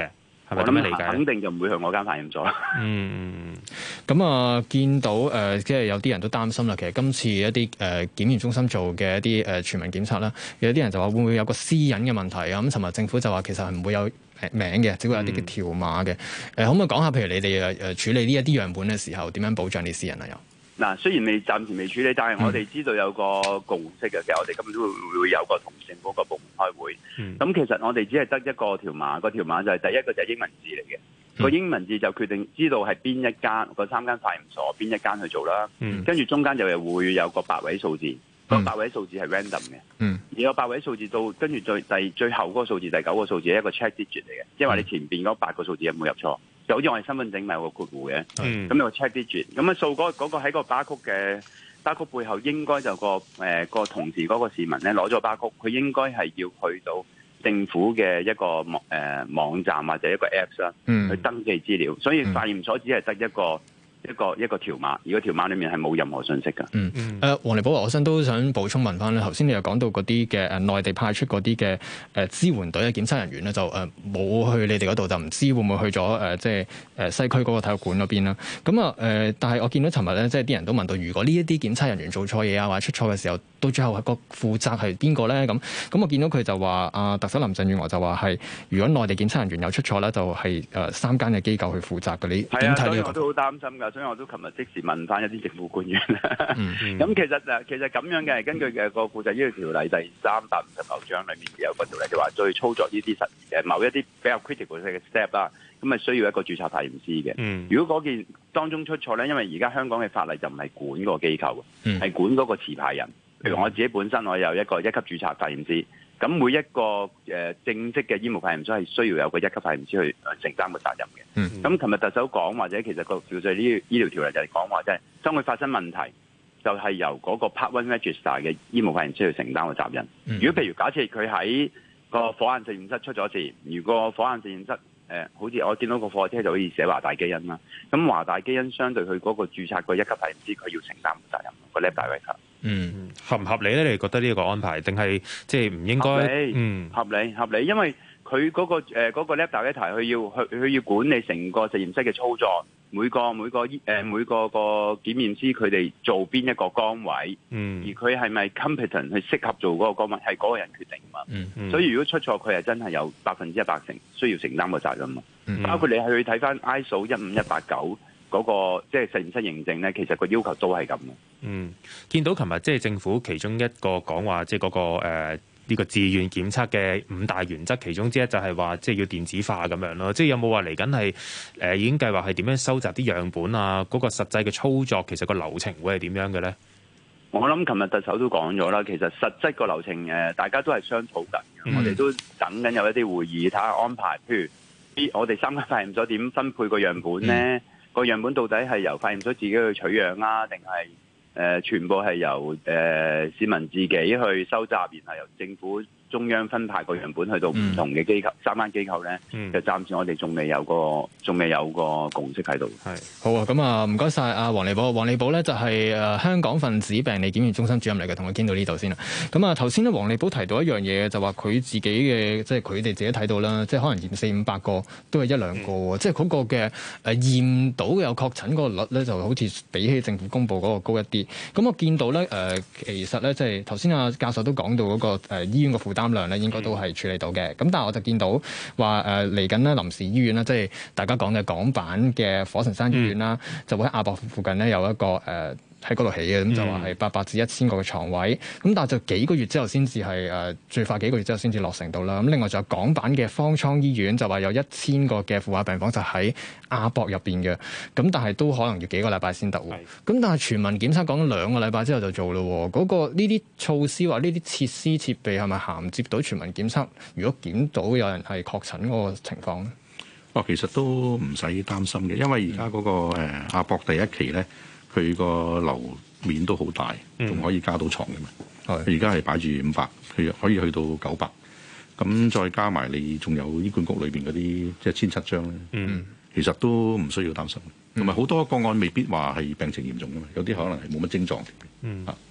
Speaker 3: 係咪咁樣理解？
Speaker 6: 肯定就唔會去我間化驗所啦。
Speaker 3: 嗯，
Speaker 2: 咁啊，見到誒、呃，即係有啲人都擔心啦。其實今次一啲誒、呃、檢驗中心做嘅一啲誒、呃、全民檢測啦，有啲人就話會唔會有個私隱嘅問題啊？咁尋日政府就話其實係唔會有名嘅，只會有啲嘅條碼嘅。誒、呃，可唔可以講下，譬如你哋誒誒處理呢一啲樣本嘅時候，點樣保障啲私人啊？又？
Speaker 6: 嗱，雖然未暫時未處理，但係我哋知道有個共識嘅，其實我哋今日都會會有個同政府個部門開會。咁、嗯、其實我哋只係得一個條碼，個條碼就係第一個就係英文字嚟嘅。嗯、個英文字就決定知道係邊一間個三間化驗所邊一間去做啦。嗯、跟住中間就係會有個八位數字，嗯、個八位數字係 random 嘅。嗯、而個八位數字到跟住最第最後嗰個數字第九個數字係一個 check digit 嚟嘅，即係話你前邊嗰八個數字有冇入錯。就好似我哋身份證咪有個括弧嘅，咁、嗯、有個 check digit，咁啊掃嗰嗰個喺個巴曲嘅巴曲背後應該就個誒、呃、個同時嗰個市民咧攞咗巴曲，佢應該係要去到政府嘅一個網誒、呃、網站或者一個 apps 啦，去登記資料，所以化驗所只係得一個。一個一個條碼，而個條碼裏面係冇任何信息㗎。嗯嗯。誒，
Speaker 2: 黃利寶，我身都想補充問翻咧。頭先你又講到嗰啲嘅誒內地派出嗰啲嘅誒支援隊嘅檢測人員咧，就誒冇去你哋嗰度，就唔知會唔會去咗誒即係誒西區嗰個體育館嗰邊啦。咁啊誒，但係我見到尋日咧，即係啲人都問到，如果呢一啲檢測人員做錯嘢啊，或者出錯嘅時候，到最後係個負責係邊個咧？咁咁我見到佢就話啊，特首林鄭月娥就話係，如果內地檢測人員有出錯咧，就係誒三間嘅機構去負責嘅。你點睇呢個？
Speaker 6: 我都好擔心㗎。所以我都琴日即時問翻一啲政府官員啦。咁、嗯嗯、其實誒，其實咁樣嘅，根據嘅個負責醫療條例第三百五十九章裏面有個條例，就話再操作呢啲實誒某一啲比較 critical 嘅 step 啦，咁啊需要一個註冊化驗師嘅。嗯、如果嗰件當中出錯咧，因為而家香港嘅法例就唔係管個機構，係、嗯、管嗰個持牌人。譬如我自己本身我有一個一級註冊化驗師，咁每一個誒、呃、正式嘅醫務化驗所係需要有個一級化驗師去承擔個責任嘅。咁琴日特首講，或者其實個條例呢醫療條例就係講話，即係當佢發生問題，就係、是、由嗰個 Part One Register 嘅醫務化驗師去承擔個責任。嗯、如果譬如假設佢喺個火眼實驗室出咗事，如果火眼實驗室誒、呃、好似我見到個貨車就可以寫華大基因啦，咁華大基因相對佢嗰個註冊個一級化驗師，佢要承擔個責任個 lab director。
Speaker 3: 嗯，合唔合理咧？你覺得呢一個安排，定係即係唔應該？
Speaker 6: 合理，
Speaker 3: 嗯，
Speaker 6: 合理，合理，因為佢嗰、嗰個誒嗰、呃嗰個 lab director，佢要去佢要管理成個實驗室嘅操作，每個每個誒、呃、每個個檢驗師佢哋做邊一個崗位，嗯，而佢係咪 competent 去適合做嗰個崗位，係嗰個人決定嘛，嗯嗯、所以如果出錯，佢係真係有百分之一百成需要承擔個責任嘛，嗯、包括你去睇翻 I S O 一五一八九。嗰、那個即係實驗室認證咧，其實個要求都係咁嘅。
Speaker 3: 嗯，見到琴日即係政府其中一個講話，即係嗰個誒呢、呃這個自願檢測嘅五大原則，其中之一就係話即係要電子化咁樣咯。即係有冇話嚟緊係誒已經計劃係點樣收集啲樣本啊？嗰、那個實際嘅操作其實個流程會係點樣嘅咧？
Speaker 6: 我諗琴日特首都講咗啦，其實實質個流程誒，大家都係商討緊嘅。嗯、我哋都等緊有一啲會議睇下安排，譬如啲我哋三間化驗所點分配個樣本咧？嗯個樣本到底係由化驗所自己去取樣啊，定係誒全部係由誒、呃、市民自己去收集，然後由政府中央分派個樣本去到唔同嘅機構，嗯、三間機構咧，嗯、就暫時我哋仲未有個，仲未有個共識喺度。
Speaker 2: 係好啊，咁啊，唔該晒阿黃利寶。黃利寶咧就係誒香港分子病理檢驗中心主任嚟嘅，同佢傾到呢度先啦。咁啊，頭先咧黃利寶提到一樣嘢，就話佢自己嘅，即係佢哋自己睇到啦，即係可能驗四五百個都係一兩個喎，嗯、即係嗰個嘅誒驗到有確診嗰個率咧，就好似比起政府公佈嗰個高一啲。咁我見到咧誒、呃，其實咧即係頭先阿教授都講到嗰、那個誒、呃、醫院嘅負擔擔量咧應該都係處理到嘅，咁但係我就見到話誒嚟緊咧臨時醫院啦，即係大家講嘅港版嘅火神山醫院啦，嗯、就會喺亞博附近咧有一個誒。呃喺嗰度起嘅，咁就話係八百至一千個嘅床位，咁但係就幾個月之後先至係誒最快幾個月之後先至落成到啦。咁另外仲有港版嘅方艙醫院，就話有一千個嘅負壓病房就喺亞博入邊嘅，咁但係都可能要幾個禮拜先得喎。咁是但係全民檢測講兩個禮拜之後就做咯。嗰、那個呢啲措施或呢啲設施設備係咪銜接到全民檢測？如果檢到有人係確診嗰個情況咧？
Speaker 4: 哦，其實都唔使擔心嘅，因為而家嗰個誒、呃、亞博第一期咧。佢個樓面都好大，仲、嗯、可以加到床嘅嘛。佢而家係擺住五百，佢可以去到九百。咁再加埋你仲有醫管局裏邊嗰啲即係千七張咧，嗯、其實都唔需要擔心。同埋好多個案未必話係病情嚴重嘅嘛，有啲可能係冇乜症狀嘅。嗯啊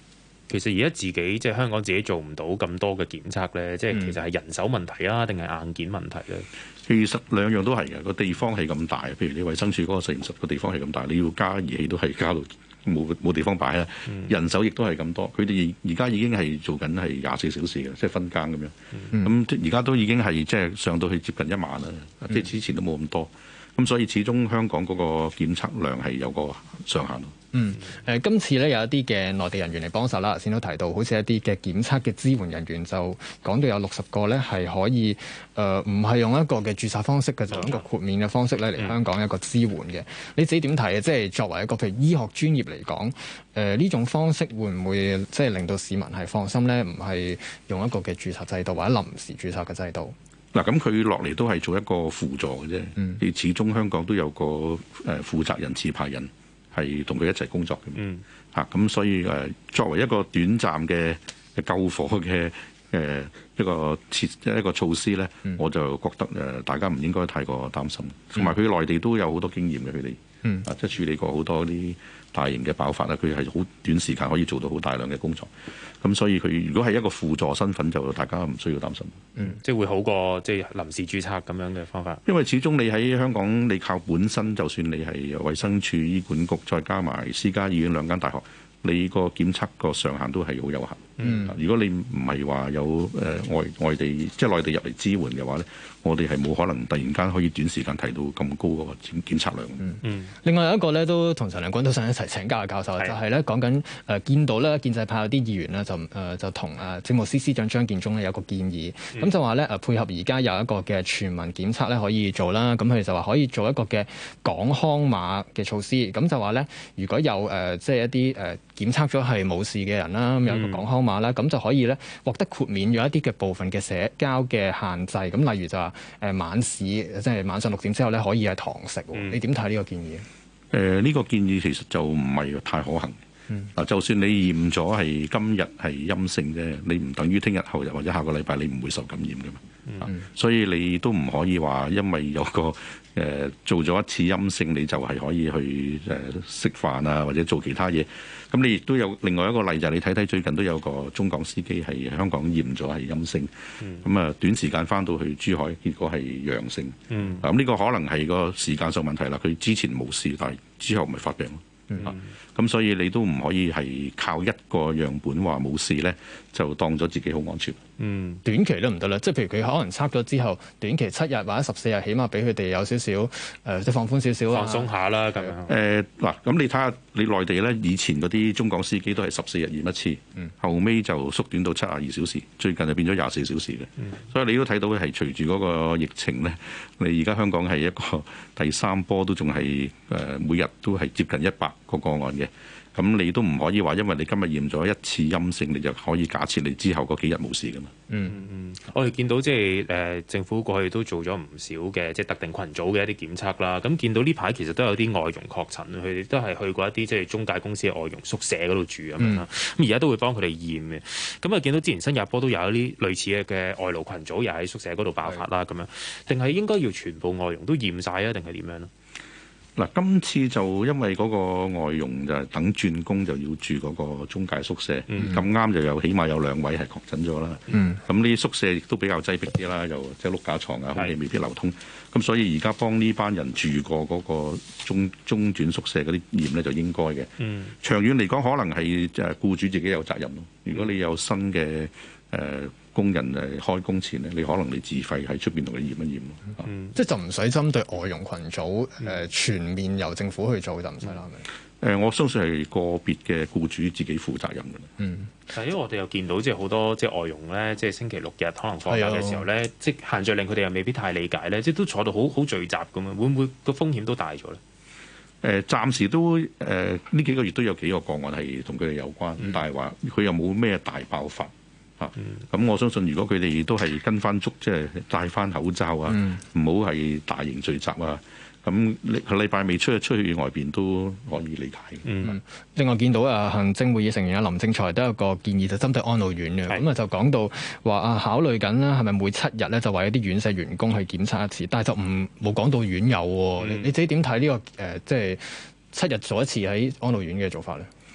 Speaker 3: 其實而家自己即係香港自己做唔到咁多嘅檢測咧，即係其實係人手問題啊，定係硬件問題咧？
Speaker 4: 其實兩樣都係嘅，個地方係咁大，譬如你衛生署嗰個實驗室個地方係咁大，你要加儀器都係加到冇冇地方擺啦。嗯、人手亦都係咁多，佢哋而家已經係做緊係廿四小時嘅，即係分更咁樣。咁而家都已經係即係上到去接近一萬啦，嗯、即係之前都冇咁多。咁所以始終香港嗰個檢測量係有個上限咯。
Speaker 2: 嗯，誒、呃，今次咧有一啲嘅內地人員嚟幫手啦，先都提到，好似一啲嘅檢測嘅支援人員就講到有六十個咧係可以，誒、呃，唔係用一個嘅註冊方式嘅，就用一個豁免嘅方式咧嚟香港一個支援嘅。嗯、你自己點睇啊？即係作為一個譬如醫學專業嚟講，誒、呃，呢種方式會唔會即係令到市民係放心咧？唔係用一個嘅註冊制度或者臨時註冊嘅制度？
Speaker 4: 嗱，咁佢落嚟都係做一個輔助嘅啫。嗯，始終香港都有個誒負責人持牌人係同佢一齊工作嘅。嗯，嚇咁所以誒作為一個短暫嘅救火嘅誒一個設一個措施咧，嗯、我就覺得誒大家唔應該太過擔心。同埋佢內地都有好多經驗嘅，佢哋嗯啊即係處理過好多啲大型嘅爆發啦，佢係好短時間可以做到好大量嘅工作。咁所以佢如果係一個輔助身份，就大家唔需要擔心。
Speaker 3: 嗯，即係會好過即係臨時註冊咁樣嘅方法。
Speaker 4: 因為始終你喺香港，你靠本身，就算你係衛生署、醫管局，再加埋私家醫院兩間大學，你個檢測個上限都係好有限。嗯，如果你唔係話有誒、呃、外外地即係內地入嚟支援嘅話咧，我哋係冇可能突然間可以短時間提到咁高嗰個檢檢測量。嗯嗯。另
Speaker 2: 外有一個咧，都同陳亮均都想一齊請教嘅教授，是就係咧講緊誒見到咧建制派有啲議員咧就誒、呃、就同誒政務司司長張建宗咧有個建議，咁、嗯、就話咧誒配合而家有一個嘅全民檢測咧可以做啦，咁佢哋就話可以做一個嘅港康碼嘅措施，咁就話咧如果有誒、呃、即係一啲誒、呃、檢測咗係冇事嘅人啦，咁有一個港康碼啦，咁、嗯、就可以咧獲得豁免咗一啲嘅部分嘅社交嘅限制，咁例如就話誒、呃、晚市即係晚上六點之後咧可以係堂食，嗯、你點睇呢個建議？誒呢、
Speaker 4: 呃呢個建議其實就唔係太可行。嗱，嗯、就算你驗咗係今日係陰性啫，你唔等於聽日後日或者下個禮拜你唔會受感染㗎嘛。嗯、所以你都唔可以話因為有個誒、呃、做咗一次陰性，你就係可以去誒食飯啊，或者做其他嘢。咁你亦都有另外一個例，就係你睇睇最近都有個中港司機係香港驗咗係陰性，咁啊、嗯、短時間返到去珠海，結果係陽性。咁呢、嗯、個可能係個時間上問題啦。佢之前冇事，但係之後咪發病咯。咁、嗯啊、所以你都唔可以係靠一個樣本話冇事咧，就當咗自己好安全。
Speaker 2: 嗯，短期都唔得啦，即係譬如佢可能測咗之後，短期七日或者十四日，起碼俾佢哋有少少誒，即係放寬少少啊，
Speaker 3: 放鬆下啦咁樣。誒嗱、
Speaker 4: 呃，咁你睇下你內地咧，以前嗰啲中港司機都係十四日驗一次，嗯、後尾就縮短到七十二小時，最近就變咗廿四小時嘅。嗯、所以你都睇到係隨住嗰個疫情咧，你而家香港係一個第三波都仲係誒每日都係接近一百個個案嘅。咁你都唔可以話，因為你今日驗咗一次陰性，你就可以假設你之後嗰幾日冇事噶嘛？
Speaker 3: 嗯嗯，我哋見到即係誒政府過去都做咗唔少嘅即係特定群組嘅一啲檢測啦。咁見到呢排其實都有啲外傭確診，佢哋都係去過一啲即係中介公司嘅外傭宿舍嗰度住咁樣啦。咁而家都會幫佢哋驗嘅。咁啊見到之前新加坡都有一啲類似嘅嘅外勞群組，又喺宿舍嗰度爆發啦咁樣。定係應該要全部外傭都驗晒啊？定係點樣咧？
Speaker 4: 嗱，今次就因為嗰個外傭就係等轉工就要住嗰個中介宿舍，咁啱、嗯、就有起碼有兩位係確診咗啦。咁呢啲宿舍亦都比較擠迫啲啦，又即係碌架床啊，空氣未必流通。咁是所以而家幫呢班人住過嗰個中中轉宿舍嗰啲驗咧，就應該嘅。嗯、長遠嚟講，可能係誒僱主自己有責任咯。如果你有新嘅誒、呃工人誒開工前咧，你可能你自費喺出邊同佢驗一驗咯。
Speaker 2: 嗯，即係就唔使針對外傭群組誒、呃、全面由政府去做就唔使啦，係咪、
Speaker 4: 嗯？誒、呃，我相信係個別嘅僱主自己負責任嘅。
Speaker 2: 嗯，
Speaker 3: 但係因為我哋又見到即係好多即係外傭咧，即係星期六日可能放假嘅時候咧，的即係限聚令佢哋又未必太理解咧，即係都坐到好好聚集咁樣，會唔會個風險都大咗咧？誒、
Speaker 4: 呃，暫時都誒呢、呃、幾個月都有幾個個案係同佢哋有關，嗯、但係話佢又冇咩大爆發。咁、嗯、我相信，如果佢哋都係跟翻足，即係戴翻口罩啊，唔好係大型聚集啊。咁禮拜未出去出去外邊都可以理解。
Speaker 2: 嗯，另外見到啊，行政會議成員啊林正財都有個建議，就針對安老院嘅。咁啊是就講到話啊，考慮緊啦，係咪每七日咧就為一啲院舍員工去檢測一次？但係就唔冇講到院友喎。嗯、你你自己點睇呢個誒、呃，即係七日做一次喺安老院嘅做法咧？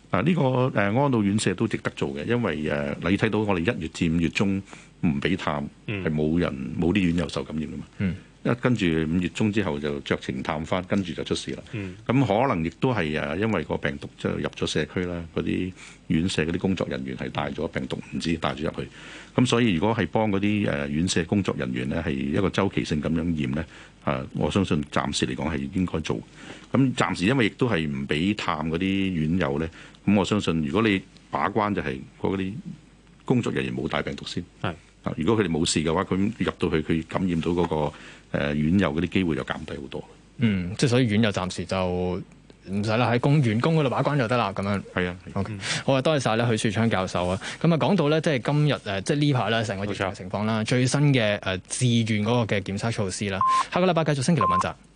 Speaker 4: 啊，呢個誒安老院舍都值得做嘅，因為誒你睇到我哋一月至五月中唔俾探，係冇、嗯、人冇啲院友受感染噶嘛。嗯一跟住五月中之後就酌情探翻，跟住就出事啦。咁、嗯、可能亦都係誒，因為個病毒就入咗社區啦，嗰啲院舍嗰啲工作人員係帶咗病毒，唔知帶咗入去。咁所以如果係幫嗰啲誒院舍工作人員咧，係一個周期性咁樣驗咧，啊，我相信暫時嚟講係應該做。咁暫時因為亦都係唔俾探嗰啲院友咧，咁我相信如果你把關就係嗰啲工作人員冇帶病毒先。係啊，如果佢哋冇事嘅話，佢入到去佢感染到嗰、嗰個。誒院友嗰啲機會就減低好多。嗯，
Speaker 2: 即係所以院友暫時就唔使啦，喺公員工嗰度把關就得啦。咁樣
Speaker 4: 係啊。
Speaker 2: OK，好啊，多謝晒咧許樹昌教授啊。咁啊講到咧，即係今日誒，即係呢排咧成個疫情嘅情況啦，最新嘅誒自願嗰個嘅檢測措施啦。下個禮拜繼續星期六問責。